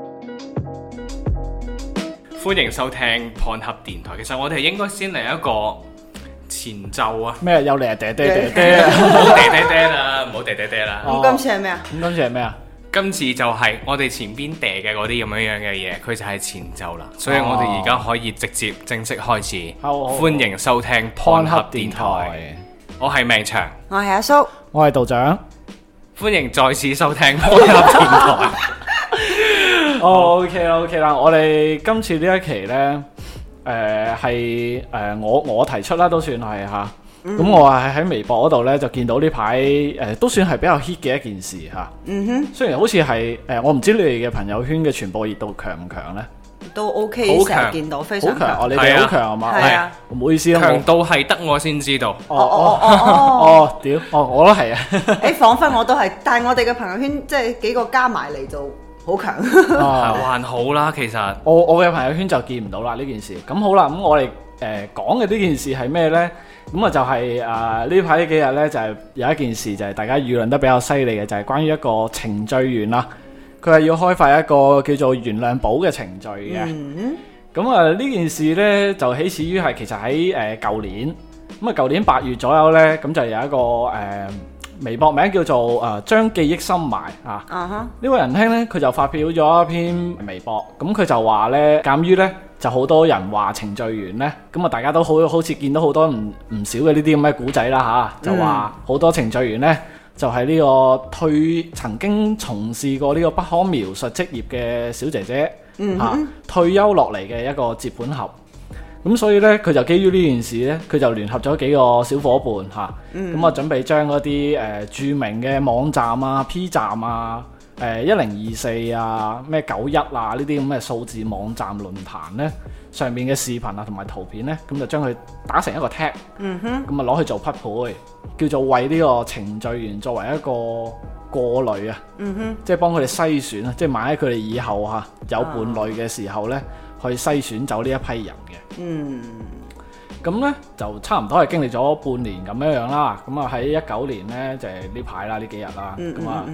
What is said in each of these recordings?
歡迎收聽 Pornhub 電台。其實我哋應該先嚟一個前奏啊！ 咩又嚟啊？嗲嗲嗲唔好嗲嗲嗲啦，唔好嗲嗲嗲啦。 咁今次係咩啊？ 咁今次係咩啊？ 今次就係我哋前邊嗲嘅嗰啲咁樣嘅嘢，佢就係前奏啦。所以我哋而家可以直接正式開始。 好歡迎收聽 Pornhub 電台。我係命長， 我係阿蘇， 我係道長。 歡迎再次收聽 Pornhub 電台。 OK 啦，我哋今次呢一期呢，係我提出啦，都算係嚇。咁我係喺微博嗰度呢，就見到呢排都算係比較 hit 嘅一件事嚇。雖然好似係我唔知你哋嘅朋友圈嘅傳播熱度強唔強呢？ 都 OK， 好強成日見到非常好強哦！ 強。 你哋好強係嘛？ 係啊， 唔好意思啊， 強到係得我先知道。 屌，我都係啊。 誒，彷彿我都係，但係我哋嘅朋友圈即係幾個加埋嚟就好強。 還好啦，其實我嘅朋友圈就見唔到啦呢件事。咁好啦，咁我哋講嘅呢件事係咩呢？咁啊就係呢排呢幾日呢，就係有一件事就係大家議論得比較犀利嘅，就係關於一個程序員啦。佢係要開發一個叫做原諒寶嘅程序嘅。咁呢件事呢，就起始於係其實喺舊年。咁啊舊年8月左右呢，咁就有一個微博名叫做將記憶深埋啊。呢位仁兄呢，佢就發表咗一篇微博，咁佢就話呢，鑑於呢，就好多人話程序員呢，咁啊大家都好似見到好多唔少嘅呢啲咁嘅古仔啦嚇，就話好多程序員呢，就係呢個曾經從事過呢個不可描述職業嘅小姐姐退休落嚟嘅一個接盤俠。咁所以呢，佢就基於呢件事呢，佢就聯合咗幾個小伙伴嚇，咁啊準備將嗰啲著名嘅網站啊、P 站啊、1024啊、咩91啊呢啲咁嘅數字網站論壇呢，上面嘅視頻啊同埋圖片呢，咁就將佢打成一個 tag，咁啊攞去做匹配，叫做為呢個程序員作為一個過濾啊，即係幫佢哋篩選啊，即係萬一佢哋以後有伴侶嘅時候呢，去篩選走呢一批人嘅。咁呢就差唔多係經歷咗半年咁樣啦。咁啊喺19年呢，就係呢排啦，呢幾日啦。咁啊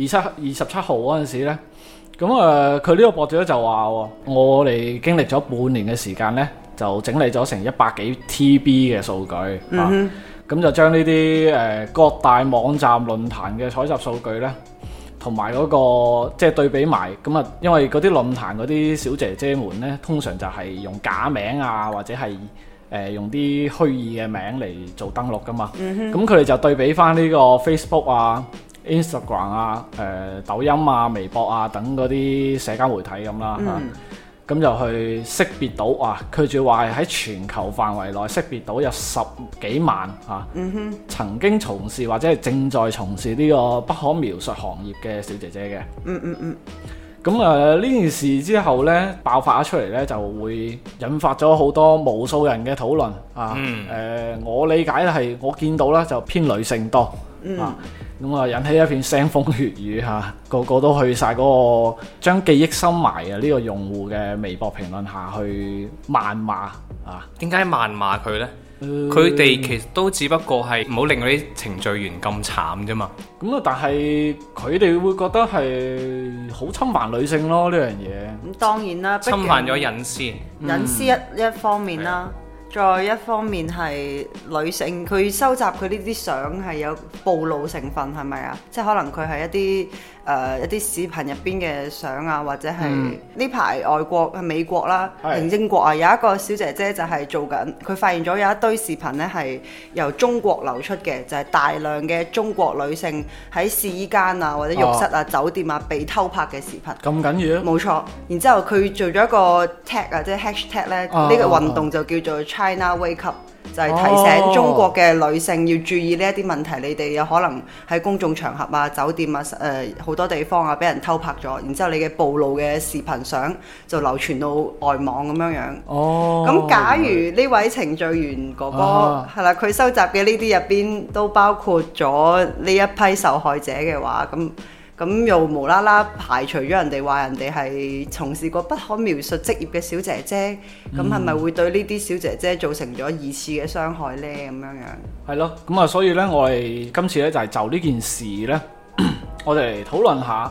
27號嗰陣時呢，咁佢呢個博主就話我哋經歷咗半年嘅時間呢，就整理咗成100幾 TB 嘅數據咁就將呢啲各大網站論壇嘅採集數據呢，同埋嗰個即係對比埋咁啊，因為嗰啲論壇嗰啲小姐姐們呢，通常就係用假名啊，或者係用啲虛擬嘅名嚟做登錄噶嘛。咁佢哋就對比翻呢個 Facebook 啊、Instagram 啊、抖音啊、微博啊等嗰啲社交媒體咁啦。咁就去識別到佢仲要話係喺全球範圍內識別到有10幾萬曾經從事或者係正在從事呢個不可描述行業嘅小姐姐嘅。咁呢件事之後呢，爆發咗出嚟呢，就會引發咗好多無數人嘅討論我理解係我見到啦，就偏女性多咁啊，引起一片腥風血雨個個都去晒嗰個將記憶深埋嘅呢個用戶嘅微博評論下去謾罵點解謾罵佢呢？佢哋其實都只不過係唔好令嗰啲程序員咁慘啫嘛。 咁但係佢哋會覺得係好侵犯女性咯呢樣嘢。 咁當然啦， 侵犯咗隱私， 隱私一方面啦。再一方面係女性，佢收集佢呢啲相係有暴露成分，係咪啊？即係可能佢係一啲視頻入邊嘅相啊，或者係呢排外國美國啦、英國啊，有一個小姐姐就係做緊，佢發現咗有一堆視頻呢係由中國流出嘅，就係大量嘅中國女性喺試衣間啊或者浴室啊、酒店啊被偷拍嘅視頻。咁緊要？ 冇錯。然之後佢做咗一個 tag 即係 hashtag 咧，呢個運動就叫做China Wake Up，就係提醒中國嘅女性要注意呢一啲問題。你哋有可能喺公眾場合啊、酒店啊、好多地方啊，俾人偷拍咗，然之後你嘅暴露嘅視頻相就流傳到外網咁樣樣。咁假如呢位程序員哥哥係啦，佢收集嘅呢啲入邊都包括咗呢一批受害者嘅話，咁又無啦啦排除咗人哋話人哋係從事過不可描述職業嘅小姐姐，咁係咪會對呢啲小姐姐造成咗二次嘅傷害呢？咁樣樣係咯，咁所以呢，我哋今次呢就係就呢件事呢，我哋嚟討論下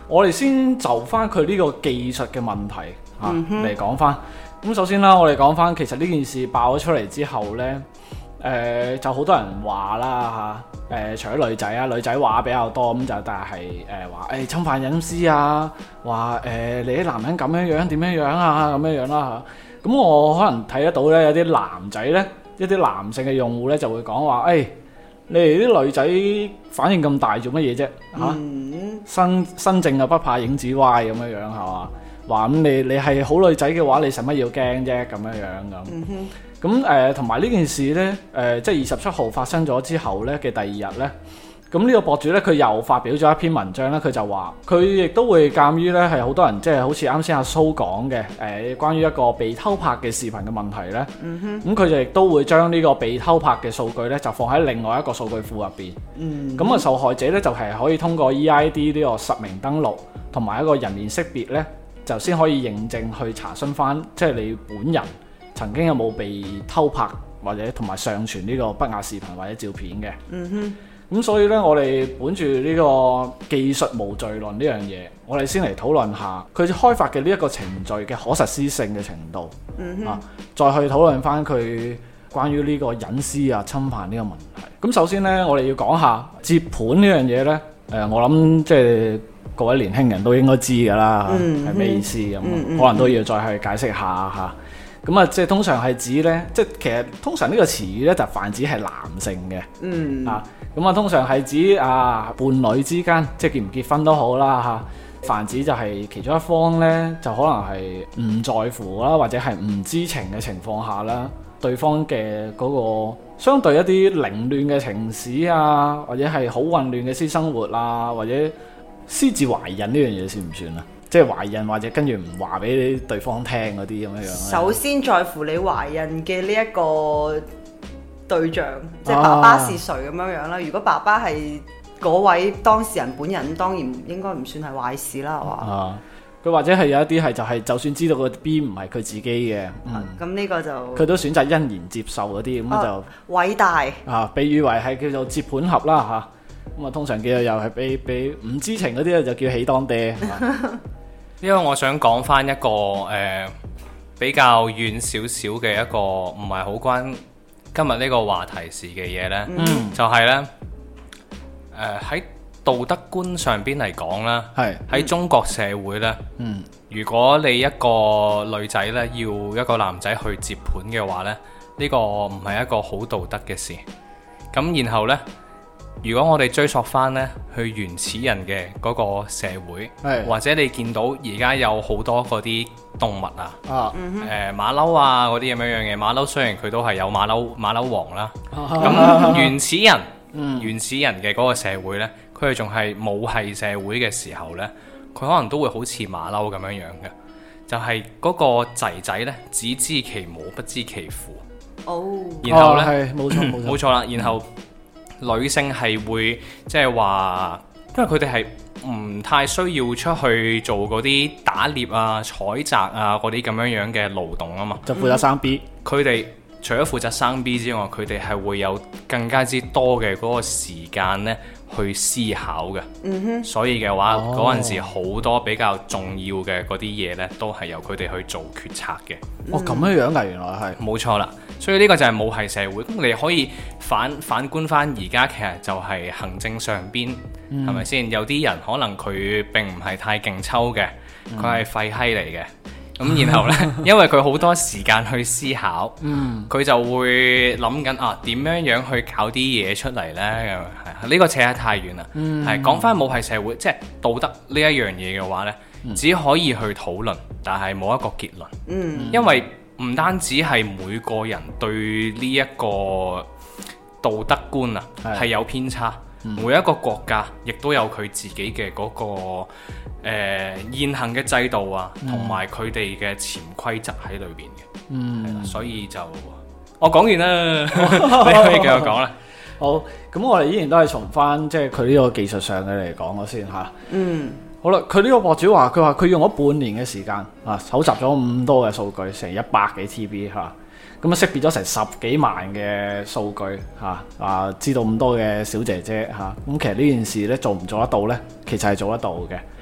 我哋先就翻佢呢個技術嘅問題嚟講翻。咁首先啦，我哋講翻其實呢件事爆咗出嚟之後呢，就好多人話啦嚇，除咗女仔啊，女仔話比較多，咁就但係話侵犯隱私啊，話你啲男人咁樣樣點樣樣啊咁樣樣啦嚇。咁我可能睇得到呢，有啲男仔呢，一啲男性嘅用戶呢，就會講話你哋啲女仔反應咁大做乜嘢啫嚇？身正啊不怕影子歪咁樣樣係嘛？話咁你係好女仔嘅話，你使乜要驚啫咁樣樣咁。咁同埋呢件事呢，即係27號發生咗之後呢嘅第二日呢，咁呢個博主呢，佢又發表咗一篇文章呢，佢就話佢亦都會鑑於呢係好多人即係好似啱先阿蘇講嘅關於一個被偷拍嘅視頻嘅問題呢。咁佢就亦都會將呢個被偷拍嘅數據呢，就放喺另外一個數據庫入邊。咁啊受害者呢，就係可以通過 EID 呢個實名登錄同埋一個人面識別呢，就先可以認證去查詢翻，即係你本人曾經有冇被偷拍或者同埋上傳呢個不雅視頻或者照片嘅。咁所以呢，我哋本住呢個技術無罪論呢樣嘢，我哋先嚟討論下佢開發嘅呢一個程序嘅可實施性嘅程度。再去討論翻佢關於呢個隱私啊侵犯呢個問題。咁首先呢，我哋要講下接盤呢樣嘢呢。我諗即係各位年輕人都應該知㗎啦，係咩意思咁？可能都要再去解釋下嚇。咁啊，即係通常係指呢，即係其實通常呢個詞語呢，就泛指係男性嘅。咁啊，通常係指伴侶之間，即係結唔結婚都好啦嚇。泛指就係其中一方呢，就可能係唔在乎啦，或者係唔知情嘅情況下啦，對方嘅嗰個相對一啲凌亂嘅情史啊，或者係好混亂嘅私生活啊，或者私自懷孕呢樣嘢算唔算啊？即係懷孕或者跟住唔話俾對方聽嗰啲咁樣樣。 首先在乎你懷孕嘅呢一個對象，即係爸爸是誰咁樣樣啦。如果爸爸係嗰位當事人本人，當然應該唔算係壞事啦，係嘛？ 佢或者係有一啲係就算知道個 B 唔係佢自己嘅， 咁呢個就佢都選擇欣然接受嗰啲，咁就偉大被譽為係叫做接盤俠啦嚇。咁啊，通常叫做又係俾唔知情嗰啲就叫喜當爹。 因為我想講翻一個比較遠少少嘅一個唔係好關今日呢個話題事嘅嘢呢，就係呢，喺道德觀上邊嚟講啦，喺中國社會呢，如果你一個女仔呢要一個男仔去接盤嘅話呢，呢個唔係一個好道德嘅事。咁然後呢，如果我哋追溯翻呢去原始人嘅嗰個社會，或者你見到而家有好多嗰啲動物啊，馬騮啊嗰啲咁樣嘅馬騮，雖然佢都係有馬騮王啦，咁原始人嘅嗰個社會呢，佢哋仲係母系社會嘅時候呢，佢可能都會好似馬騮咁樣樣嘅，就係嗰個仔仔呢，只知其母不知其父。然後呢，冇錯啦，然後女性係會即係話，因為佢哋係唔太需要出去做嗰啲打獵啊、採摘啊嗰啲咁樣樣嘅勞動啊嘛， 就負責生 B。 佢哋除咗負責生 B 之外，佢哋係會有更加之多嘅嗰個時間呢去思考嘅。所以嘅話，嗰陣時好多比較重要嘅嗰啲嘢呢，都係由佢哋去做決策嘅。 咁樣樣㗎，原來係冇錯啦。所以呢個就係母系社會。咁你可以反觀翻而家，其實就係行政上邊，係咪先？有啲人可能佢並唔係太勁抽嘅，佢係廢閪嚟嘅。咁然後呢，因為佢好多時間去思考，佢就會諗緊點樣去搞啲嘢出嚟呢？呢個扯得太遠啦。係講翻母系社會，即係道德呢一樣嘢嘅話呢，只可以去討論，但係冇一個結論。因為唔單止係每個人對呢一個道德觀係有偏差，每一個國家亦都有佢自己嘅嗰個現行嘅制度啊，同埋佢哋嘅潛規則喺裏邊嘅。係啦，所以就我講完啦，你可以繼續講啦。 好，咁我哋依然都係從翻即係佢呢個技術上嘅嚟講咗先嚇。好啦，佢呢個博主話，佢用咗半年嘅時間搜集咗咁多嘅數據，成100幾 TB 嚇，咁識別咗成10幾萬嘅數據知道咁多嘅小姐姐嚇，咁其實呢件事咧做唔做得到呢？其實係做得到嘅。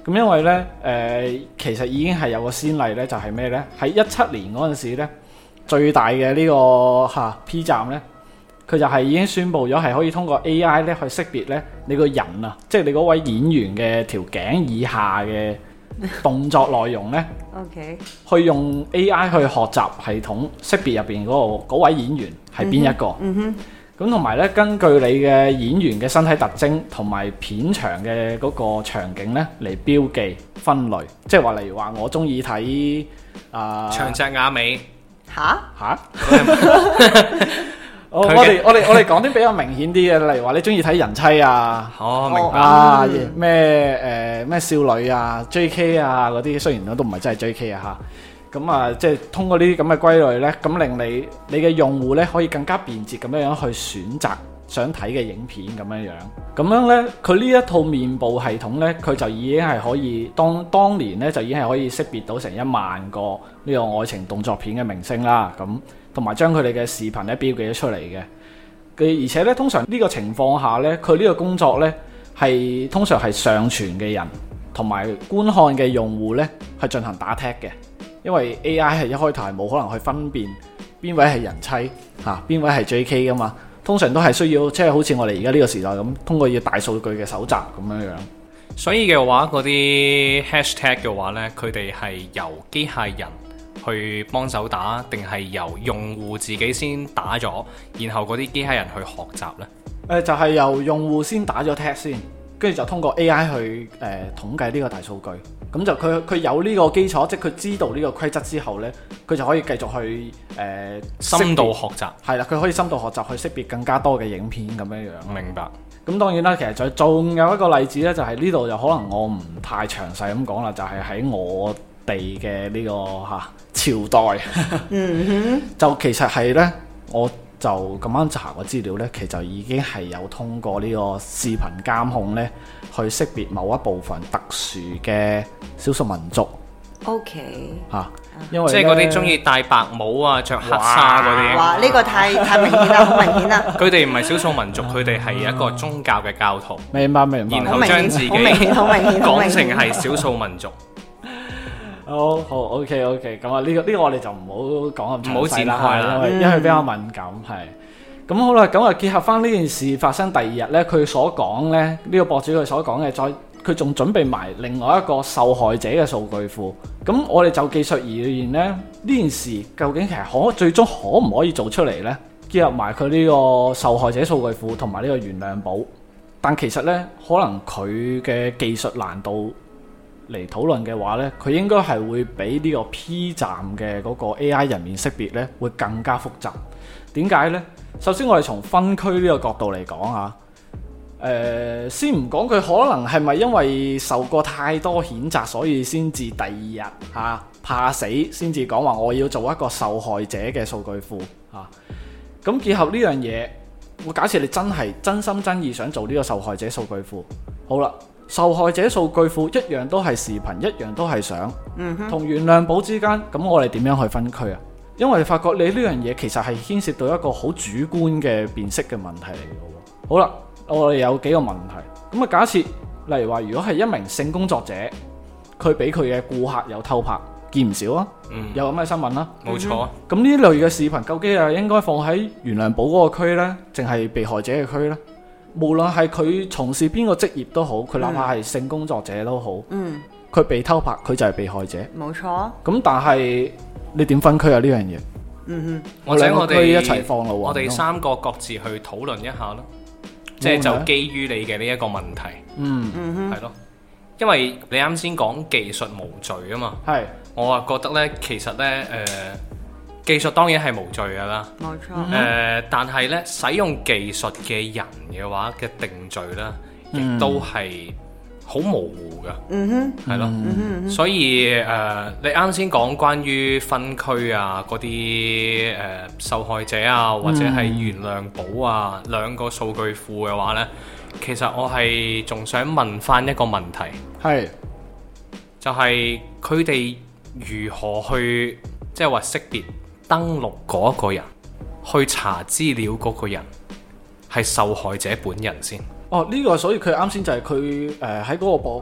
咁因為呢，其實已經係有個先例呢，就係咩呢？喺17年嗰陣時呢，最大嘅呢個P 站呢，佢就係已經宣布咗係可以通過 AI 咧去識別呢你個人啊，即係你嗰位演員嘅條頸以下嘅動作內容呢。 OK， 去用 AI 去學習系統識別入邊嗰位演員係邊一個。咁同埋咧，根據你嘅演員嘅身體特徵同埋片場嘅嗰個場景咧嚟標記分類，即係話例如話我中意睇長隻雅美嚇， 我哋講啲比較明顯啲嘅，例如話你中意睇人妻啊， 明白咩少女啊 JK 啊嗰啲，雖然我都唔係真係 JK 啊嚇，咁啊即係通過呢啲咁嘅歸類呢，咁令你嘅用戶呢可以更加便捷咁樣去選擇想睇嘅影片咁樣，呢佢呢一套面部系統呢，佢就已經係可以當年呢就已經係可以識別到成1萬個呢個愛情動作片嘅明星啦，咁同埋將佢哋嘅視頻咧標記咗出嚟嘅。而且咧，通常呢個情況下咧，佢呢個工作咧係通常係上傳嘅人同埋觀看嘅用戶咧係進行打 tag 嘅，因為 AI 係一開頭係冇可能去分辨邊位係人妻邊位係 JK 噶嘛，通常都係需要即係好似我哋而家呢個時代咁，通過要大數據嘅搜集咁樣。 所以嘅話，嗰啲 hashtag 嘅話咧，佢哋係由機械人去幫手打，定係由用戶自己先打咗，然後嗰啲機械人去學習呢？ 就係由用戶先打咗 tag 先，跟住就通過 AI 去統計呢個大數據。咁就佢有呢個基礎，即係佢知道呢個規則之後呢，佢就可以繼續去深度學習。 係啦，佢可以深度學習去識別更加多嘅影片咁樣。 明白。 咁當然啦，其實仲有一個例子呢，就係呢度就可能我唔太詳細咁講啦，就係喺我哋嘅呢個朝代，就其實係呢，我就咁啱查個資料呢，其實已經係有通過呢個視頻監控呢，去識別某一部分特殊嘅少數民族。 OK， 因為即係嗰啲中意戴白帽啊、着黑紗嗰啲。 哇！呢個太明顯啦，好明顯啦。 佢哋唔係少數民族，佢哋係一個宗教嘅教徒。 明白。 然後將自己講成係少數民族。 好 OK， 咁啊呢個我哋就唔好講咁詳細啦，因為比較敏感係。咁好啦，咁啊結合翻呢件事發生第2日呢，佢所講呢，呢個博主佢所講嘅，佢仲準備埋另外一個受害者嘅數據庫。咁我哋就技術而言呢件事究竟其實最終可唔可以做出嚟呢？結合埋佢呢個受害者數據庫同埋呢個原諒寶，但其實呢，可能佢嘅技術難度嚟討論嘅話呢，佢應該係會比呢個 P 站嘅嗰個 AI 人面識別呢會更加複雜。點解呢？首先我哋從分區呢個角度嚟講先唔講佢可能係咪因為受過太多譴責，所以先至第2日怕死先至講話我要做一個受害者嘅數據庫咁結合呢樣嘢，我假設你真係真心真意想做呢個受害者數據庫，好啦。受害者數據庫一樣都係視頻，一樣都係相，同原諒寶之間，咁我哋點樣去分區啊？因為你發覺你呢樣嘢其實係牽涉到一個好主觀嘅辨識嘅問題嚟嘅。好啦，我哋有幾個問題。咁啊，假設例如話，如果係一名性工作者，佢俾佢嘅顧客有偷拍，見唔少啊，有咁嘅新聞啦， 冇錯啊。 咁呢類嘅視頻究竟係應該放喺原諒寶嗰個區呢，定係被害者嘅區呢？無論係佢從事邊個職業都好，佢哪怕係性工作者都好，佢被偷拍，佢就係被害者。 冇錯。 咁但係你點分區啊？呢樣嘢， 或者我哋一齊放咯。 我哋3個各自去討論一下咯，即係就基於你嘅呢一個問題，係咯。因為你啱先講技術無罪啊嘛， 係。我啊覺得呢，其實呢，技術當然係無罪㗎啦， 冇錯。 但係咧，使用技術嘅人嘅話嘅定罪咧，亦都係好模糊㗎，係咯。所以你啱先講關於分區啊，嗰啲受害者啊，或者係原諒寶啊兩個數據庫嘅話咧，其實我係仲想問翻一個問題，係就係佢哋如何去即係話識別登錄嗰個人，去查資料嗰個人係受害者本人先。 呢個所以佢啱先就係佢喺嗰個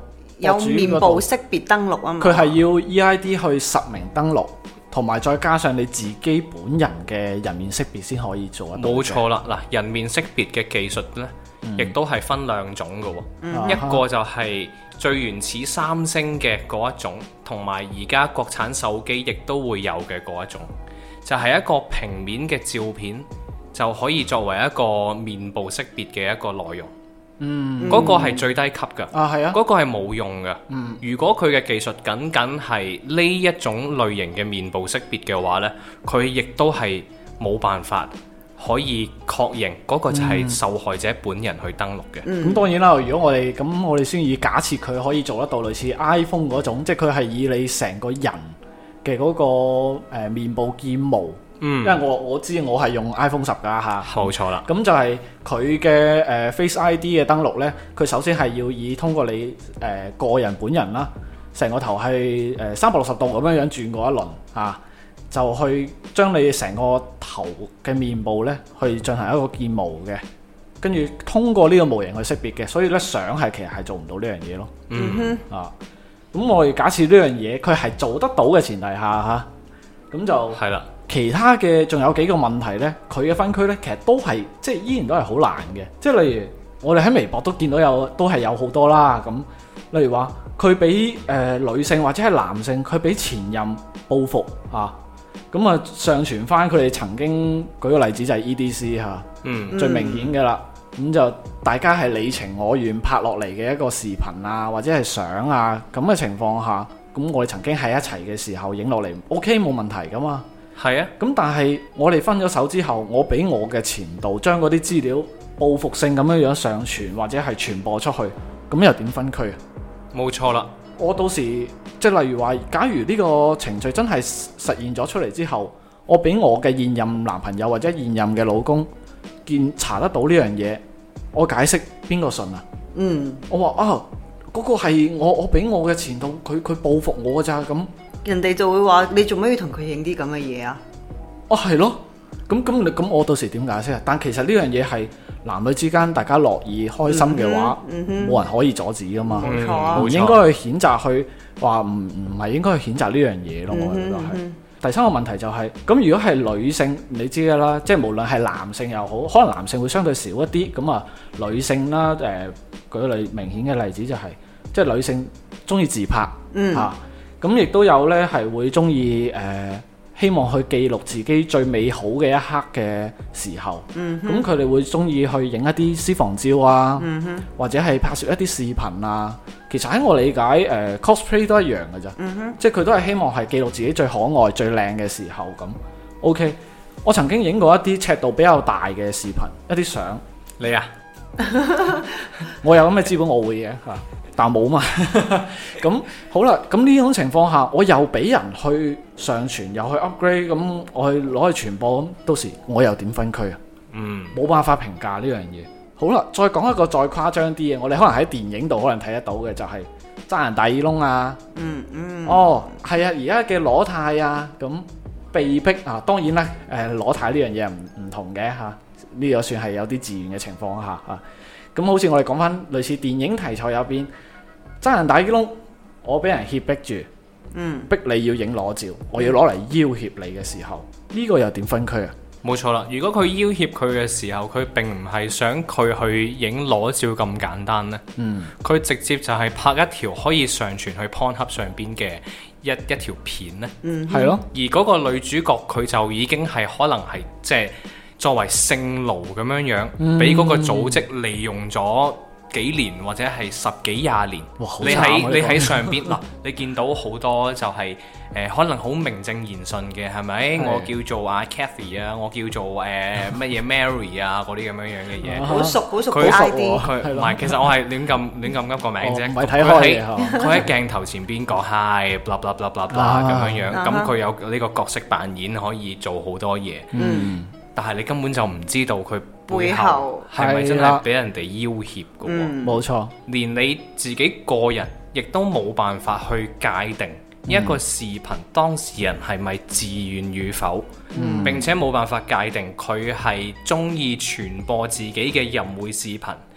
有面部識別登錄啊嘛。 佢係要 EID 去實名登錄，同埋再加上你自己本人嘅人面識別先可以做得到。 冇錯啦，嗱，人面識別嘅技術呢，亦都係分兩種嘅喎。一個就係最原始三星嘅嗰一種，同埋而家國產手機亦都會有嘅嗰一種，就係一個平面嘅照片就可以作為一個面部識別嘅一個內容。嗰個係最低級㗎。 係啊， 嗰個係冇用嘅。如果佢嘅技術僅僅係呢一種類型嘅面部識別嘅話呢，佢亦都係冇辦法可以確認嗰個就係受害者本人去登錄嘅。 咁當然啦，如果我哋先以假設佢可以做得到類似 iPhone 嗰種，即係佢係以你成個人嘅嗰個面部建模。因為我知我係用 iPhone 10㗎嚇， 冇錯啦。 咁就係佢嘅Face ID 嘅登錄呢，佢首先係要通過你個人本人啦，成個頭係360度咁樣轉過一輪嚇，就去將你成個頭嘅面部呢去進行一個建模嘅，跟住通過呢個模型去識別嘅，所以呢相係其實係做唔到呢樣嘢咯。咁我哋假設呢樣嘢佢係做得到嘅前提下嚇，咁就係啦。其他嘅仲有幾個問題呢，佢嘅分區呢，其實都係即係依然都係好難嘅。即係例如我哋喺微博都見到都係有好多啦。咁例如話佢俾女性或者係男性，佢俾前任報復啊，咁啊上傳翻佢哋曾經舉個例子就係 EDC 嚇，最明顯嘅啦。咁就大家係你情我願拍落嚟嘅一個視頻啊，或者係相啊咁嘅情況下，咁我哋曾經喺一齊嘅時候影落嚟 OK 冇問題噶嘛。 係啊， 咁但係我哋分咗手之後，我俾我嘅前度將嗰啲資料報復性咁樣上傳或者係傳播出去，咁又點分區啊？ 冇錯啦， 我到時即係例如話，假如呢個程序真係實現咗出嚟之後，我俾我嘅現任男朋友或者現任嘅老公查得到呢樣嘢，我解釋邊個信啊？我話嗰個係我俾我嘅前度，佢報復我㗎咋咁。 人哋就會話你做咩要同佢影啲咁嘅嘢啊？ 係咯，咁我到時點解釋啊？但其實呢樣嘢係男女之間大家樂意開心嘅話，冇人可以阻止噶嘛。 冇錯啊， 唔應該去譴責去話唔係應該去譴責呢樣嘢咯。我覺得係。第三個問題就係咁，如果係女性，你知㗎啦，即係無論係男性又好，可能男性會相對少一啲。咁啊，女性啦，舉個明顯嘅例子就係，即係女性中意自拍嚇。咁亦都有呢係會中意希望去記錄自己最美好嘅一刻嘅時候。咁佢哋會中意去影一啲私房照啊，或者係拍攝一啲視頻啊。其實喺我理解cosplay 都一樣嘅咋，即係佢都係希望係記錄自己最可愛最靚嘅時候咁。OK， 我曾經影過一啲尺度比較大嘅視頻，一啲相。 你啊？ 我有咁嘅資本，我會嘅嚇。但冇嘛，咁好啦，咁呢種情況下，我又俾人去上傳，又去 upgrade，咁我去攞去傳播，咁到時我又點分區啊？冇辦法評價呢樣嘢。好啦，再講一個再誇張啲嘅，我哋可能喺電影度可能睇得到嘅就係爭人大耳窿啊。係啊，而家嘅裸態啊，咁被逼啊，當然啦，裸態呢樣嘢唔同嘅嚇，呢個算係有啲自願嘅情況下嚇。咁好似我哋講翻類似電影題材入邊，爭人大耳窿，我俾人脅迫住，逼你要影裸照，我要攞嚟要挾你嘅時候，呢個又點分區啊？冇錯啦，如果佢要挾佢嘅時候，佢並唔係想佢去影裸照咁簡單呢。佢直接就係拍一條可以上傳去 Pornhub 上邊嘅一條片呢。 係咯。 而嗰個女主角佢就已經係可能係即係作為性奴咁樣樣，俾嗰個組織利用咗幾年或者係10幾20年。你喺上邊嗱，你見到好多就係可能好名正言順嘅，係咪？我叫做阿 Cathy 啊，我叫做乜嘢 Mary 啊，嗰啲咁樣樣嘅嘢。 好熟嘅 ID。 佢唔係，其實我係亂咁噏個名啫。 唔係睇開嘅。 佢喺鏡頭前邊講 hi blah blah blah blah blah 咁樣樣，咁佢有呢個角色扮演可以做好多嘢。但係你根本就唔知道佢背後係咪真係俾人哋要挾嘅喎？ 冇錯， 連你自己個人亦都冇辦法去界定一個視頻當事人係咪自願與否，並且冇辦法界定佢係中意傳播自己嘅淫穢視頻，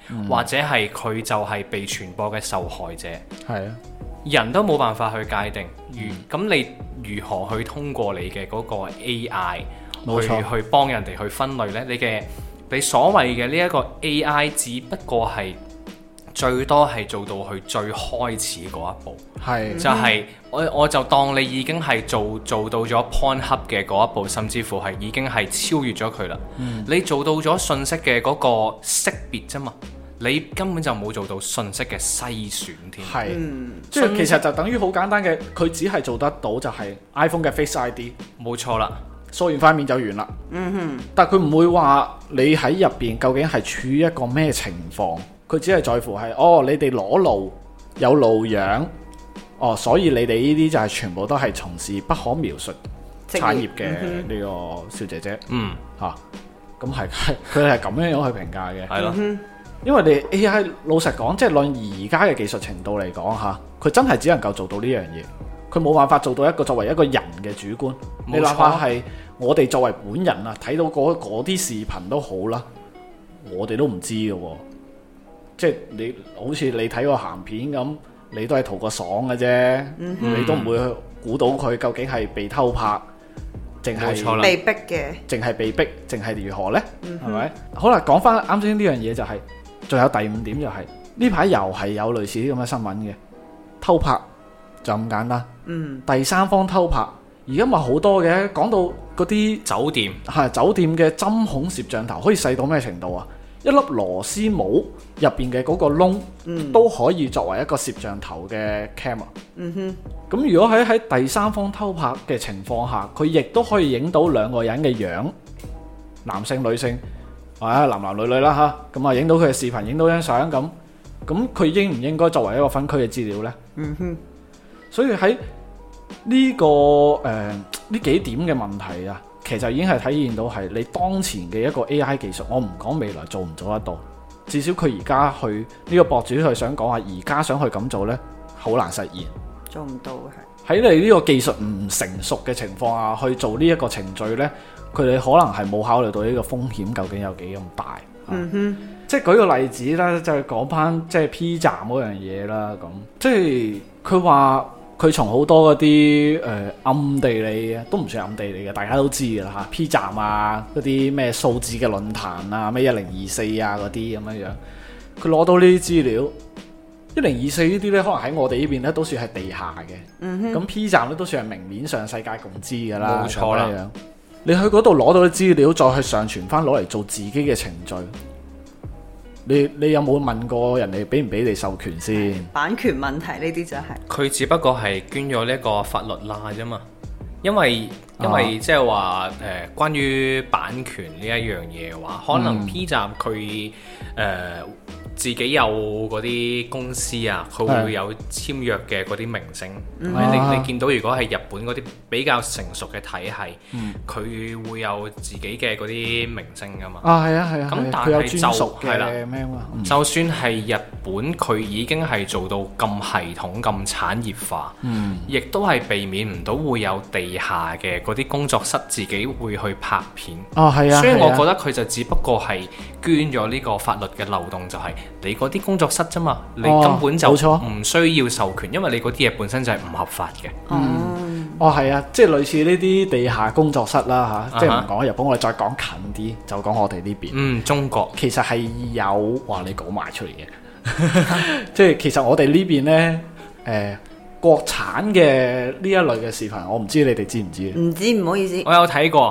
或者係佢就係被傳播嘅受害者。 係啊， 人都冇辦法去界定，咁你如何去通過你嘅嗰個 AI 冇錯去幫人哋去分類呢？你所謂嘅呢一個 AI，只不過係最多係做到去最開始嗰一步， 係就係我就當你已經係做到咗 Pornhub 嘅嗰一步，甚至乎係已經係超越咗佢啦。你做到咗信息嘅嗰個識別啫嘛。你根本就冇做到信息嘅篩選添， 係，即係其實就等於好簡單嘅，佢只係做得到就係 iPhone 嘅 Face ID， 冇錯啦， 掃完塊面就完啦。但係佢唔會話你喺入邊究竟係處於一個咩情況，佢只係在乎係你哋裸露有露樣，所以你哋呢啲就係全部都係從事不可描述產業嘅呢個小姐姐。咁係佢係咁樣樣去評價嘅， 係咯。 因為你 AI 老實講，即係論而家嘅技術程度嚟講嚇，佢真係只能夠做到呢樣嘢，佢冇辦法做到一個作為一個人嘅主觀。你哪怕係我哋作為本人啊，睇到嗰啲視頻都好啦，我哋都唔知嘅喎。即係你好似你睇個鹹片咁，你都係圖個爽嘅啫，你都唔會估到佢究竟係被偷拍，淨係被逼嘅， 淨係被逼，淨係如何呢？係咪？好啦，講翻啱先呢樣嘢就係。仲有第五點就係呢排又係有類似啲咁嘅新聞嘅偷拍就咁簡單。第三方偷拍而家咪好多嘅，講到嗰啲酒店酒店嘅針孔攝像頭可以細到咩程度啊？一粒螺絲帽入邊嘅嗰個窿都可以作為一個攝像頭嘅 camera。咁如果喺第三方偷拍嘅情況下，佢亦都可以影到兩個人嘅樣，男性女性。男男女女啦嚇，咁影到佢嘅視頻，影到張相咁佢應唔應該作為一個分區嘅資料呢？所以喺呢呢幾點嘅問題啊，其實已經係體現到係你當前嘅一個 AI 技術。我唔講未來做唔做得到，至少佢而家去呢個博主去想講下，而家想去咁做呢，好難實現， 做唔到嘅。喺你呢個技術唔成熟嘅情況下去做呢一個程序呢，佢哋可能係冇考慮到呢個風險究竟有幾咁大。即係舉個例子啦，就係講翻即係 P 站嗰樣嘢啦。咁即係佢話佢從好多嗰啲暗地裏嘅，都唔算暗地裏嘅，大家都知㗎啦嚇。P 站啊，嗰啲咩數字嘅論壇啊，咩1024啊嗰啲咁樣樣，佢攞到呢啲資料。1024呢啲咧，可能喺我哋呢邊咧都算係地下嘅。咁 P 站咧都算係明面上世界共知㗎啦。 冇錯啦。 你去嗰度攞到啲資料，再去上傳翻攞嚟做自己嘅程序，你有冇問過人哋俾唔俾你授權先？ 版權問題呢啲就係佢只不過係捐咗呢一個法律罅啫嘛。因為即係話關於版權呢一樣嘢嘅話，可能 P 站佢自己有嗰啲公司啊，佢會有簽約嘅嗰啲明星。你見到如果係日本嗰啲比較成熟嘅體系，佢會有自己嘅嗰啲明星噶嘛。 係啊。 咁但係係啦，就算係日本，佢已經係做到咁系統、咁產業化，亦都係避免唔到會有地下嘅嗰啲工作室自己會去拍片。 係啊。 所以我覺得佢就只不過係捐咗呢個法律嘅漏洞，就係你嗰啲工作室啫嘛，你根本就唔需要授權，因為你嗰啲嘢本身就係唔合法嘅。 係啊，即係類似呢啲地下工作室啦嚇，即係唔講日本，我哋再講近啲，就講我哋呢邊。中國其實係有你講埋出嚟嘅，即係其實我哋呢邊呢，國產嘅呢一類嘅視頻，我唔知你哋知唔知？ 唔知，唔好意思。 我有睇過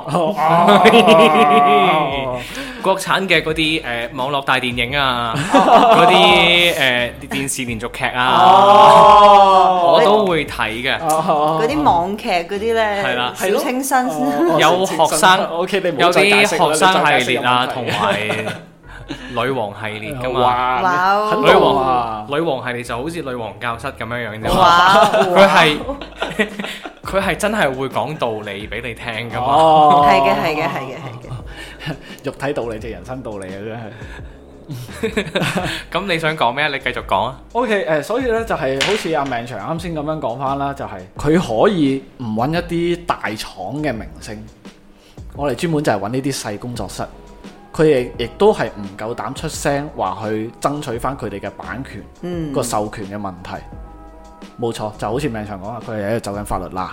國產嘅嗰啲網絡大電影啊，嗰啲電視連續劇啊，我都會睇嘅。 嗰啲網劇嗰啲呢，小清新有學生，有啲學生系列啊，同埋女王系列噶嘛。女王系列就好似女王教室咁樣樣啫。佢係真係會講道理俾你聽噶嘛。 係嘅。 肉體道理即係人生道理啊！真係。 咁你想講咩？你繼續講啊。 OK， 所以咧就係好似阿命長啱先咁樣講翻啦，就係佢可以唔揾一啲大廠嘅明星，我哋專門就係揾呢啲細工作室， 佢哋亦都係唔夠膽出聲話去爭取翻佢哋嘅版權個授權嘅問題。冇錯，就好似命長講啊，佢哋喺度走緊法律啦。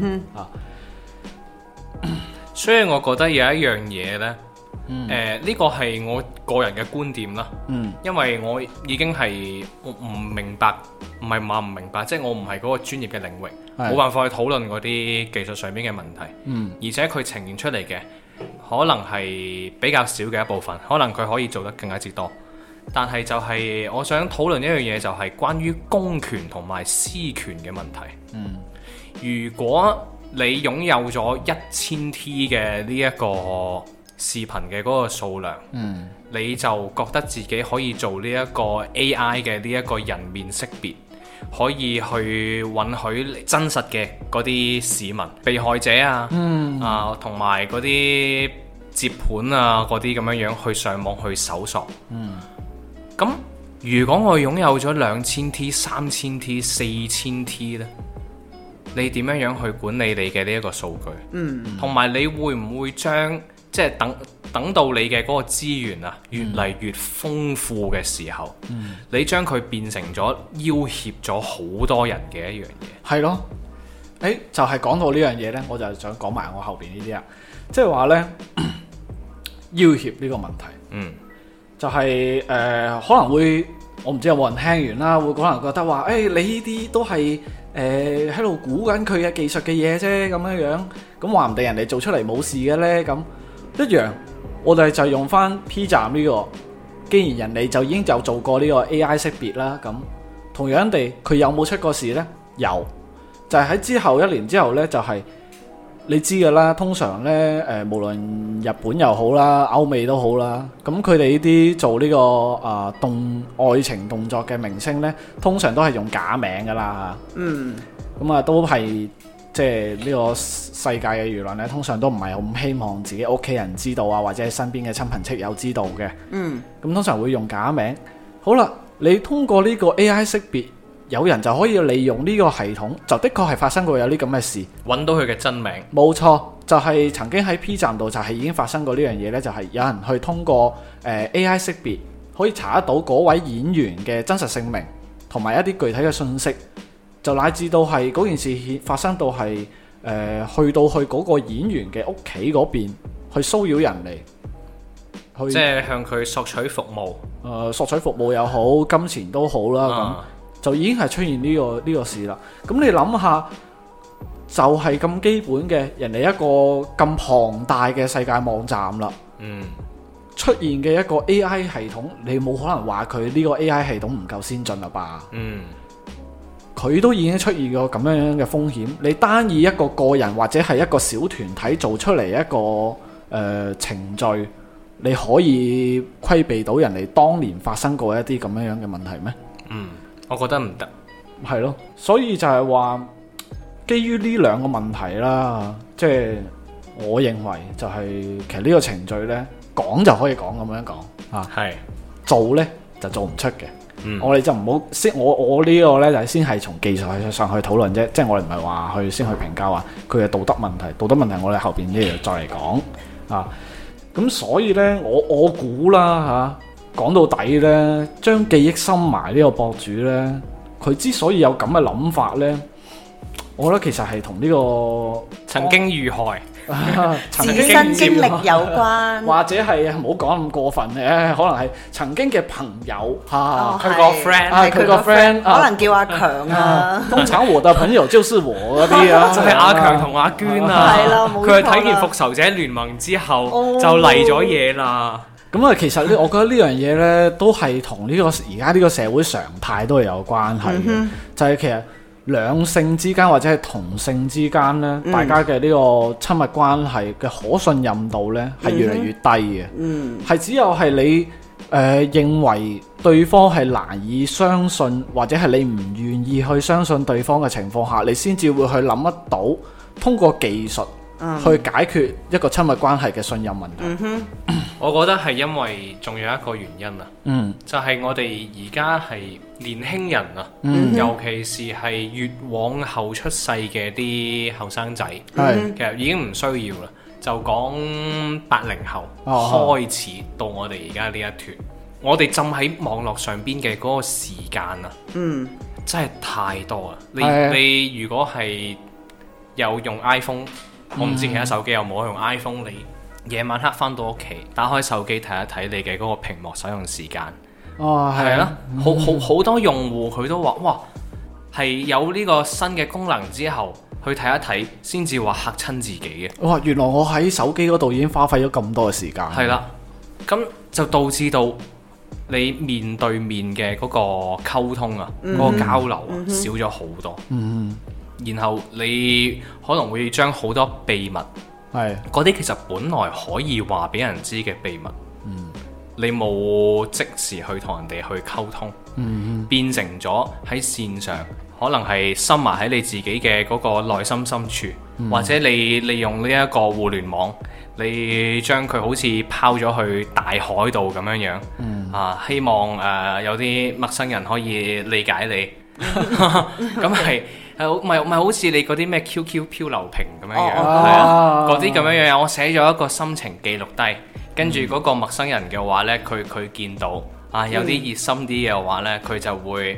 所以我覺得有一樣嘢呢，呢個係我個人嘅觀點啦。因為我已經係唔明白，唔係話唔明白，即係我唔係嗰個專業嘅領域，冇辦法去討論嗰啲技術上面嘅問題。而且佢呈現出嚟嘅可能係比較少嘅一部分，可能佢可以做得更加之多。但係就係我想討論一樣嘢，就係關於公權同埋私權嘅問題。如果你擁有咗1000 T 嘅呢一個視頻嘅嗰個數量，你就覺得自己可以做呢一個 AI 嘅呢一個人面識別，可以去允許真實嘅嗰啲市民、被害者啊，同埋嗰啲接盤啊嗰啲咁樣樣去上網去搜索。咁如果我擁有咗2000 T、3000 T、4000 T 呢？你點樣樣去管理你嘅呢一個數據？同埋你會唔會將即係等到你嘅嗰個資源啊越嚟越豐富嘅時候，你將佢變成咗要挾咗好多人嘅一樣嘢？ 係咯，就係講到呢樣嘢呢，我就想講埋我後邊呢啲啊，即係話呢，要挾呢個問題。就係可能會，我唔知有冇人聽完啦，會可能覺得話，你呢啲都係喺度估緊佢嘅技術嘅嘢啫，咁樣咁話唔定人哋做出嚟冇事嘅呢。咁一樣，我哋就用翻 P 站呢個，既然人哋就已經有做過呢個 AI 識別啦，咁同樣地，佢有冇出過事呢？有，就係喺之後1年之後呢，就係。你知㗎啦，通常呢，無論日本又好啦，歐美都好啦，咁佢哋呢啲做呢個愛情動作嘅明星呢，通常都係用假名㗎啦。咁啊都係即係呢個世界嘅輿論呢，通常都唔係咁希望自己屋企人知道啊，或者係身邊嘅親朋戚友知道嘅。咁通常會用假名。好啦，你通過呢個 AI 識別。有人就可以利用呢個系統，就的確係發生過有啲咁嘅事， 揾到佢嘅真名。冇錯，就係曾經喺 P 站度就係已經發生過呢樣嘢呢，就係有人去通過AI 識別，可以查得到嗰位演員嘅真實姓名同埋一啲具體嘅信息，就乃至到係嗰件事發生到係去到嗰個演員嘅屋企嗰邊去騷擾人嚟， 即係向佢索取服務。 索取服務又好，金錢都好啦咁。就已經係出現呢個事啦。咁你諗下，就係咁基本嘅人哋一個咁龐大嘅世界網站啦。出現嘅一個 AI 系統，你冇可能話佢呢個 AI 系統唔夠先進啦吧？佢都已經出現過咁樣嘅風險。你單以一個個人或者係一個小團體做出嚟一個程序，你可以規避到人哋當年發生過一啲咁樣嘅問題咩？ 我覺得唔得， 係咯，所以就係話，基於呢兩個問題啦，即係我認為就係其實呢個程序呢，講就可以講咁樣講啊，係做呢就做唔出嘅。我哋就唔好先，我呢個呢就係先係從技術上去討論啫，即係我哋唔係話去先去評價話佢嘅道德問題，道德問題我哋後邊呢度再嚟講啊。咁所以呢，我估啦嚇。講到底呢，將記憶深埋呢個博主呢，佢之所以有咁嘅諗法呢，我覺得其實係同呢個曾經遇害、 自身經歷有關， 或者係唔好講咁過分嘅，可能係曾經嘅朋友佢個 friend， 佢個 friend， 可能叫阿強啊。 通常我的朋友就是我嗰啲啊， 就係阿強同阿娟啊，佢係睇完復仇者聯盟之後就嚟咗嘢啦。 咁啊，其實我覺得呢樣嘢呢，都係同呢個而家呢個社會常態都係有關係嘅。就係其實兩性之間或者係同性之間呢，大家嘅呢個親密關係嘅可信任度呢，係越嚟越低嘅。係只有係你認為對方係難以相信，或者係你唔願意去相信對方嘅情況下，你先至會去諗得到通過技術去解決一個親密關係嘅信任問題。 我覺得係因為仲有一個原因啊，就係我哋而家係年輕人啊，尤其是係越往後出世嘅啲後生仔，其實已經唔需要啦。 就講80後開始到我哋而家呢一段，我哋浸喺網絡上邊嘅嗰個時間啊，真係太多啊！你如果係有用 iPhone，我唔知其他手機有冇用 iPhone，你夜晚黑翻到屋企，打開手機睇一睇你嘅嗰個屏幕使用時間。係啦，好多用戶佢都話，哇，係有呢個新嘅功能之後，去睇一睇，先至話嚇親自己嘅。哇！ 原來我喺手機嗰度已經花費咗咁多嘅時間。 係啦，咁就導致到你面對面嘅嗰個溝通啊，嗰個交流啊，少咗好多。然後你可能會將好多秘密，嗰啲其實本來可以話俾人知嘅秘密，你冇即時去同人哋去溝通，變成咗喺線上，可能係深埋喺你自己嘅嗰個內心深處，或者你利用呢一個互聯網，你將佢好似拋咗去大海度咁樣樣，希望有啲陌生人可以理解你，咁係咪好似你嗰啲咩 QQ 漂流瓶咁樣樣，係啊，嗰啲咁樣樣，我寫咗一個心情記錄低，跟住嗰個陌生人嘅話呢，佢見到有啲熱心啲嘅話呢，佢就會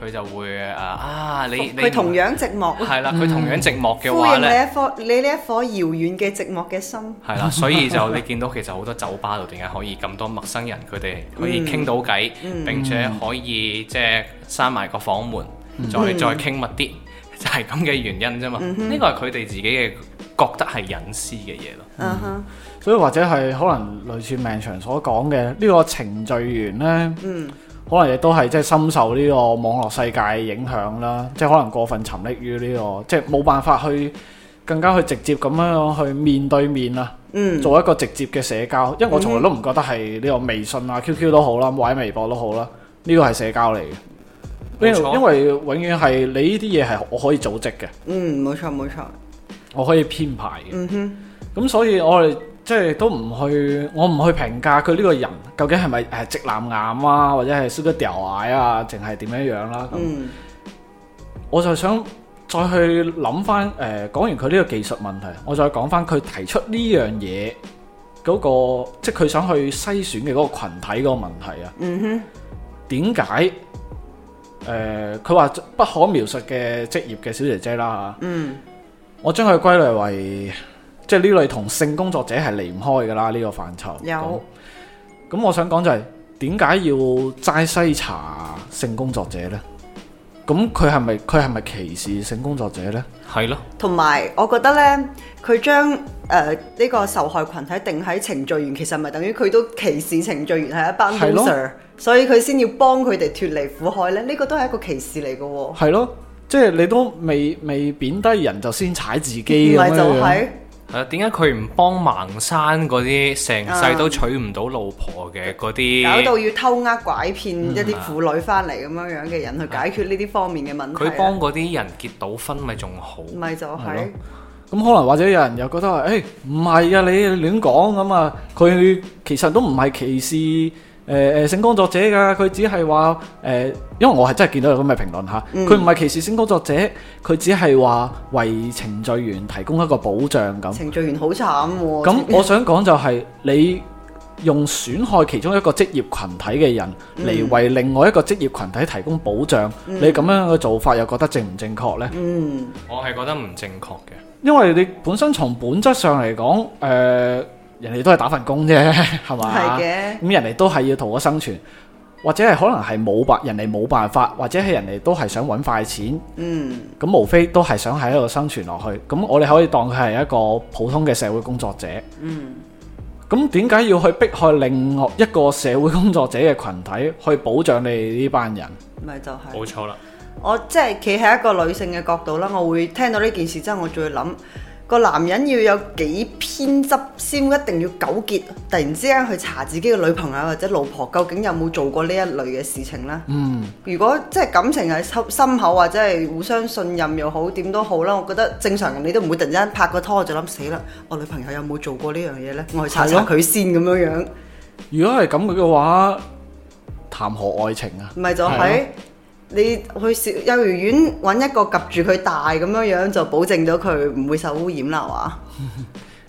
你佢同樣寂寞， 係啦，佢同樣寂寞嘅話呢， 你呢一顆遙遠嘅寂寞嘅心， 係啦，所以就你見到其實好多酒吧度點解可以咁多陌生人，佢哋可以傾到偈，並且可以即係閂埋個房門，再傾密啲，就係咁嘅原因啫嘛。呢個係佢哋自己嘅覺得係隱私嘅嘢咯。 所以或者係可能類似命長所講嘅呢個程序員呢，可能亦都係即係深受呢個網絡世界影響啦，即係可能過分沉溺於呢個，即係冇辦法去更加去直接咁樣去面對面啊，做一個直接嘅社交。因為我從來都唔覺得係呢個微信啊、QQ 都好啦，或者微博都好啦，呢個係社交嚟嘅。因為永遠係你呢啲嘢係我可以組織嘅。 冇錯冇錯， 我可以編排嘅。咁所以我哋即係都唔去，我唔去評價佢呢個人究竟係咪直男癌啊，或者係燒得掉矮啊，淨係點樣樣啦。我就想再去諗翻講完佢呢個技術問題，我再講翻佢提出呢樣嘢嗰個，即係佢想去篩選嘅嗰個群體嗰個問題啊。點解佢話不可描述嘅職業嘅小姐姐啦嚇？我將佢歸類為即係呢類同性工作者係離唔開㗎啦，呢個範疇。有。咁我想講就係點解要齋篩查性工作者呢？咁佢係咪歧視性工作者呢？係咯。 同埋我覺得呢，佢將呢個受害群體定喺程序員，其實咪等於佢都歧視程序員係一班 loser，所以佢先要幫佢哋脫離苦海呢。呢個都係一個歧視嚟嘅喎。係咯， 即係你都未貶低人就先踩自己咁樣。唔係就係。 點解佢唔幫盲山嗰啲成世都娶唔到老婆嘅嗰啲， 搞到要偷呃拐騙一啲婦女翻嚟咁樣嘅人去解決呢啲方面嘅問題？ 佢幫嗰啲人結到婚咪仲好？ 咪就係。 咁可能或者有人又覺得話，唔係啊，你亂講咁啊，佢其實都唔係歧視性工作者㗎，佢只係話因為我係真係見到有咁嘅評論嚇，佢唔係歧視性工作者，佢只係話為程序員提供一個保障咁。程序員好慘喎。咁我想講就係你用損害其中一個職業群體嘅人嚟為另外一個職業群體提供保障，你咁樣嘅做法又覺得正唔正確呢？ 我係覺得唔正確嘅，因為你本身從本質上嚟講，人哋都係打份工啫，係嘛？係嘅。咁人哋都係要圖個生存，或者係可能係人哋冇辦法，或者係人哋都係想揾快錢。咁無非都係想喺度生存落去。咁我哋可以當佢係一個普通嘅社會工作者。咁點解要去迫害另外一個社會工作者嘅群體去保障你呢班人？咪就係。 冇錯啦。 我即係企喺一個女性嘅角度啦，我會聽到呢件事之後，我再諗。個男人要有幾偏執先一定要糾結，突然之間去查自己嘅女朋友或者老婆究竟有冇做過呢一類嘅事情呢？如果即係感情係深厚或者係互相信任又好，點都好啦，我覺得正常人你都唔會突然之間拍個拖就諗死啦，我女朋友有冇做過呢樣嘢呢？我去查佢先咁樣樣。 如果係咁嘅話，談何愛情啊？ 咪就係。你去幼兒園揾一個及住佢大咁樣樣，就保證咗佢唔會受污染啦，係嘛？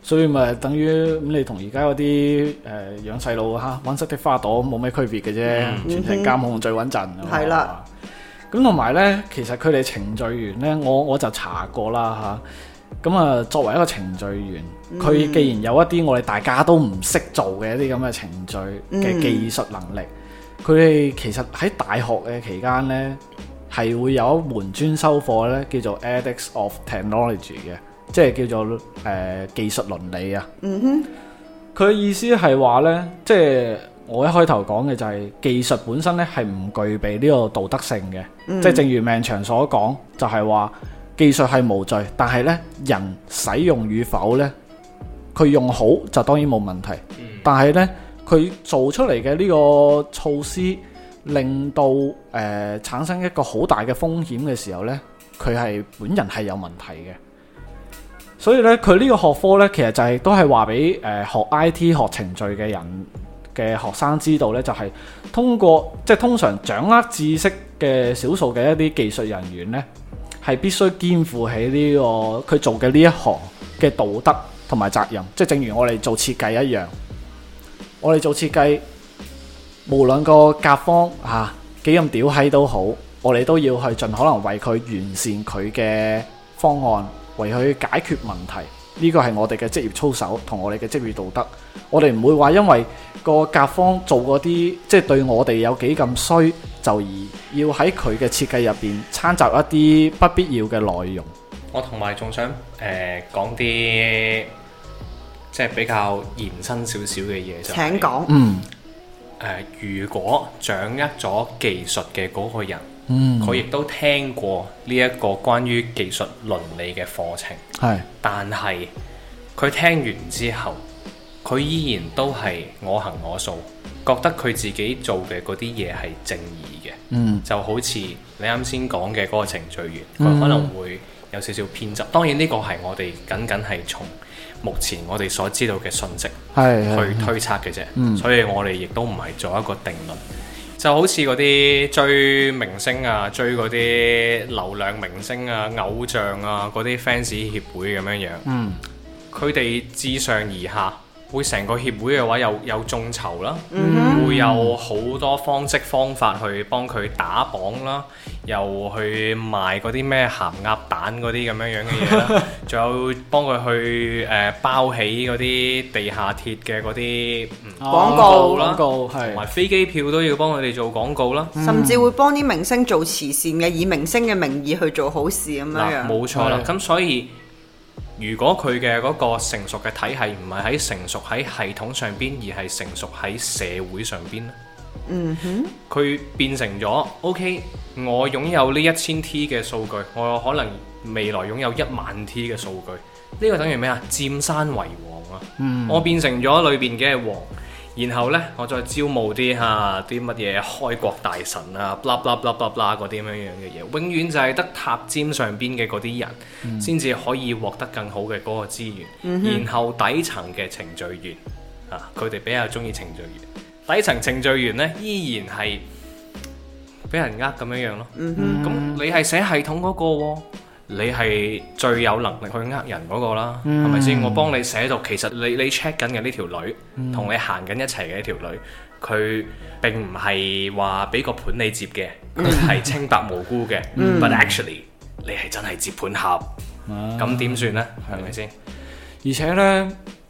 所以咪等於咁，你同而家嗰啲養細路嚇溫室的花朵冇咩區別嘅啫，全程監控最穩陣。 係啦。 咁同埋呢，其實佢哋程序員呢，我就查過啦嚇。咁啊，作為一個程序員，佢既然有一啲我哋大家都唔識做嘅一啲咁嘅程序嘅技術能力，佢哋其實喺大學嘅期間呢，係會有一門專修課呢，叫做 Ethics of Technology 嘅，即係叫做技術倫理啊。佢嘅意思係話呢，即係我一開頭講嘅就係技術本身呢係唔具備呢個道德性嘅，即係正如命長所講，就係話技術係無罪，但係呢人使用與否呢，佢用好就當然冇問題，但係呢佢做出嚟嘅呢個措施令到產生一個好大嘅風險嘅時候呢，佢係本人係有問題嘅。所以呢，佢呢個學科呢，其實就係都係話俾學 IT 學程序嘅人嘅學生知道呢，就係通過即係通常掌握知識嘅少數嘅一啲技術人員呢，係必須肩負起呢個佢做嘅呢一行嘅道德同埋責任。即係正如我哋做設計一樣，我哋做設計，無論個甲方幾咁屌閪都好，我哋都要去盡可能為佢完善佢嘅方案，為佢解決問題。呢個係我哋嘅職業操守同我哋嘅職業道德。我哋唔會話因為個甲方做嗰啲即係對我哋有幾咁衰，就而要喺佢嘅設計入邊摻雜一啲不必要嘅內容。 我同埋仲想講啲即係比較延伸少少嘅嘢就係。 請講。 如果掌握咗技術嘅嗰個人，佢亦都聽過呢一個關於技術倫理嘅課程，但係佢聽完之後，佢依然都係我行我素，覺得佢自己做嘅嗰啲嘢係正義嘅，就好似你啱先講嘅嗰個程序員，佢可能會有少少偏執。當然呢個係我哋僅係從目前我哋所知道嘅信息去推測嘅啫，所以我哋亦都唔係做一個定論。就好似嗰啲追明星啊，追嗰啲流量明星啊、偶像啊嗰啲 fans 協會咁樣樣，佢哋自上而下，會成個協會嘅話有眾籌啦，會有好多方式方法去幫佢打榜啦，又去賣嗰啲咩鹹鴨蛋嗰啲咁樣樣嘅嘢啦，仲有幫佢去包起嗰啲地下鐵嘅嗰啲廣告啦，同埋飛機票都要幫佢哋做廣告啦， 甚至會幫啲明星做慈善嘅，以明星嘅名義去做好事咁樣。 冇錯啦，咁所以如果佢嘅嗰個成熟嘅體系唔係喺成熟喺系統上邊，而係成熟喺社會上邊咧，佢變成咗 OK， 我擁有呢1000 T 嘅數據，我可能未來擁有10000 T 嘅數據，呢個等於咩啊？佔山為王啊！我變成咗裏邊嘅王，然後呢，我再招募啲乜嘢開國大臣啊，blah blah blah blah blah 嗰啲咁樣樣嘅嘢，永遠就係得塔尖上邊嘅嗰啲人先至可以獲得更好嘅嗰個資源，然後底層嘅程序員佢哋比較中意程序員，底層程序員呢，依然係俾人咁樣樣咯。咁你係寫系統嗰個喎，你係最有能力去呃人嗰個啦，係咪先？我幫你寫到，其實你 check 緊嘅呢條女，同你行緊一齊嘅呢條女，佢並唔係話俾個盤你接嘅，佢係清白無辜嘅。But actually，你係真係接盤俠，咁點算呢？係咪先？ 而且呢，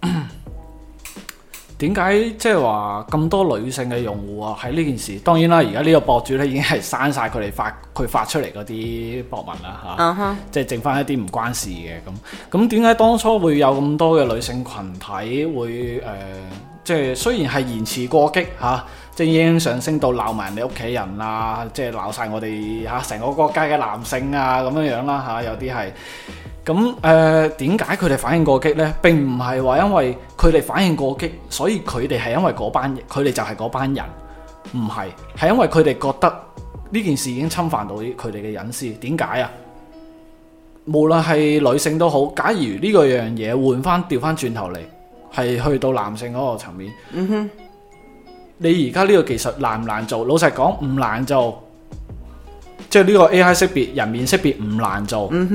點解即係話咁多女性嘅用戶啊？喺呢件事，當然啦，而家呢個博主咧已經係刪晒佢哋發出嚟嗰啲博文啦嚇，即係剩翻一啲唔關事嘅咁。咁點解當初會有咁多嘅女性群體會即係雖然係言辭過激嚇，即係已經上升到鬧埋人哋屋企人啊，即係鬧晒我哋成個國家嘅男性啊咁樣樣啦嚇，有啲係。咁點解佢哋反應過激呢？並唔係話因為佢哋反應過激，所以佢哋係因為嗰班人，佢哋就係嗰班人，唔係，係因為佢哋覺得呢件事已經侵犯到佢哋嘅隱私。點解啊？無論係女性都好，假如呢個樣嘢調翻轉頭嚟，係去到男性嗰個層面，你而家呢個技術難唔難做？老實講唔難做，即係呢個 AI 識別人面識別唔難做。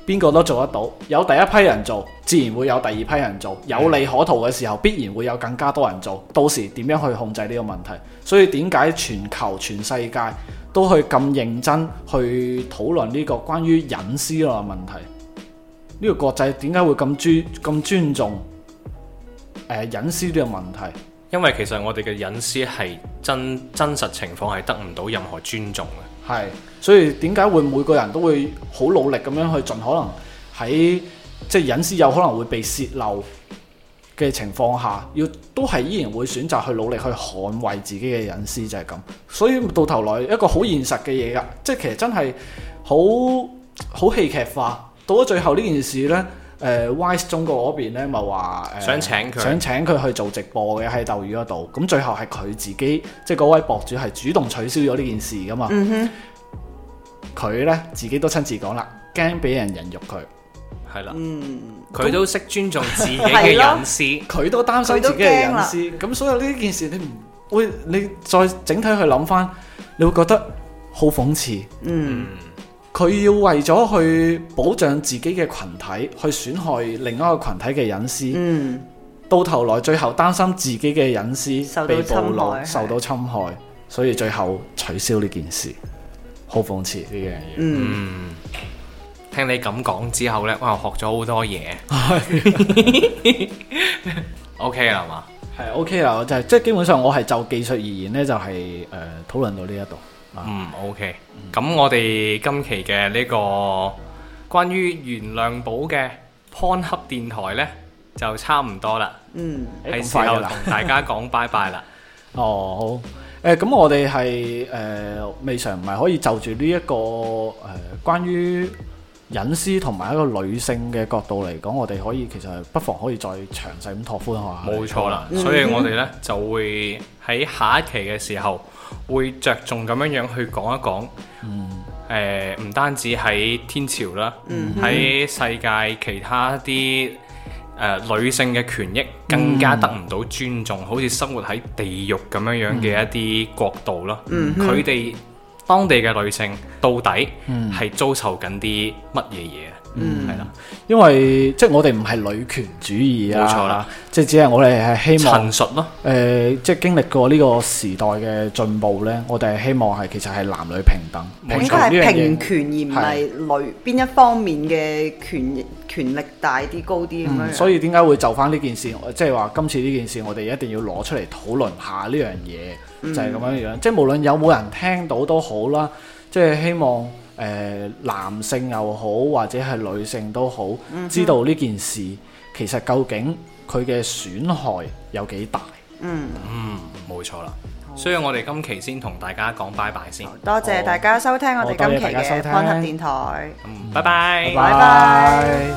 邊個都做得到，有第一批人做，自然會有第二批人做，有利可圖嘅時候，必然會有更加多人做。到時點樣去控制呢個問題？所以點解全球全世界都去咁認真去討論呢個關於隱私嘅問題？呢個國際點解會咁尊重隱私呢個問題？ 因為其實我哋嘅隱私係真實情況係得唔到任何尊重嘅。 係，所以點解會每個人都會好努力咁樣去盡可能喺即係隱私有可能會被泄漏嘅情況下，都係依然會選擇去努力去捍衛自己嘅隱私，就係咁。所以到頭來一個好現實嘅嘢㗎，即係其實真係好戲劇化。到咗最後呢件事呢，Wise 中國嗰邊呢咪話想請佢去做直播嘅喺鬥魚嗰度，咁最後係佢自己即係嗰位博主係主動取消咗呢件事㗎嘛。佢呢自己都親自講啦，驚俾人人肉佢。 係啦，佢都識尊重自己嘅隱私， 佢都擔心自己嘅隱私。咁所以呢件事你再整體去諗翻，你會覺得好諷刺。佢要為咗去保障自己嘅群體，去損害另一個群體嘅隱私，到頭來最後擔心自己嘅隱私被暴露、受到侵害，所以最後取消呢件事，好諷刺呢樣嘢。 聽你咁講之後呢，我學咗好多嘢。OK 啦嘛， 係 OK 啦，就係即係基本上我係就技術而言呢，就係討論到呢一度。 OK。咁我哋今期嘅呢個關於袁亮寶嘅 Pornhub 電台呢，就差唔多啦。係時候同大家講拜拜啦。 好。咁我哋係未嘗唔係可以就住呢一個關於隱私同埋一個女性嘅角度嚟講，我哋可以其實不妨可以再詳細咁拓寬下。 冇錯啦，所以我哋呢就會喺下一期嘅時候會着重咁樣樣去講一講，唔單止喺天朝啦，喺世界其他啲女性嘅權益更加得唔到尊重，好似生活喺地獄咁樣樣嘅一啲國度啦，佢哋當地嘅女性到底係遭受緊啲乜嘢嘢？係啦， 因為即係我哋唔係女權主義啊， 冇錯啦， 即係只係我哋係希望陳述咯。 即係經歷過呢個時代嘅進步呢，我哋係希望係其實係男女平等， 應該係平權而唔係邊一方面嘅權力大啲高啲咁樣。 所以點解會就翻呢件事？即係話今次呢件事，我哋一定要攞出嚟討論下呢樣嘢，就係咁樣樣。即係無論有冇人聽到都好啦，即係希望男性又好或者係女性都好，知道呢件事其實究竟佢嘅損害有幾大。 冇錯啦。所以我哋今期先同大家講拜拜先。 多謝大家收聽我哋今期嘅 Pornhub 電台。 拜拜。 拜拜。